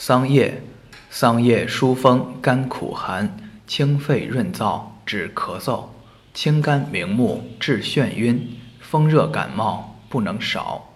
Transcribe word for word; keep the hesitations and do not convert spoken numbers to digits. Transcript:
桑叶，桑叶疏风甘苦寒，清肺润燥，治咳嗽，清肝明目，治眩晕，风热感冒不能少。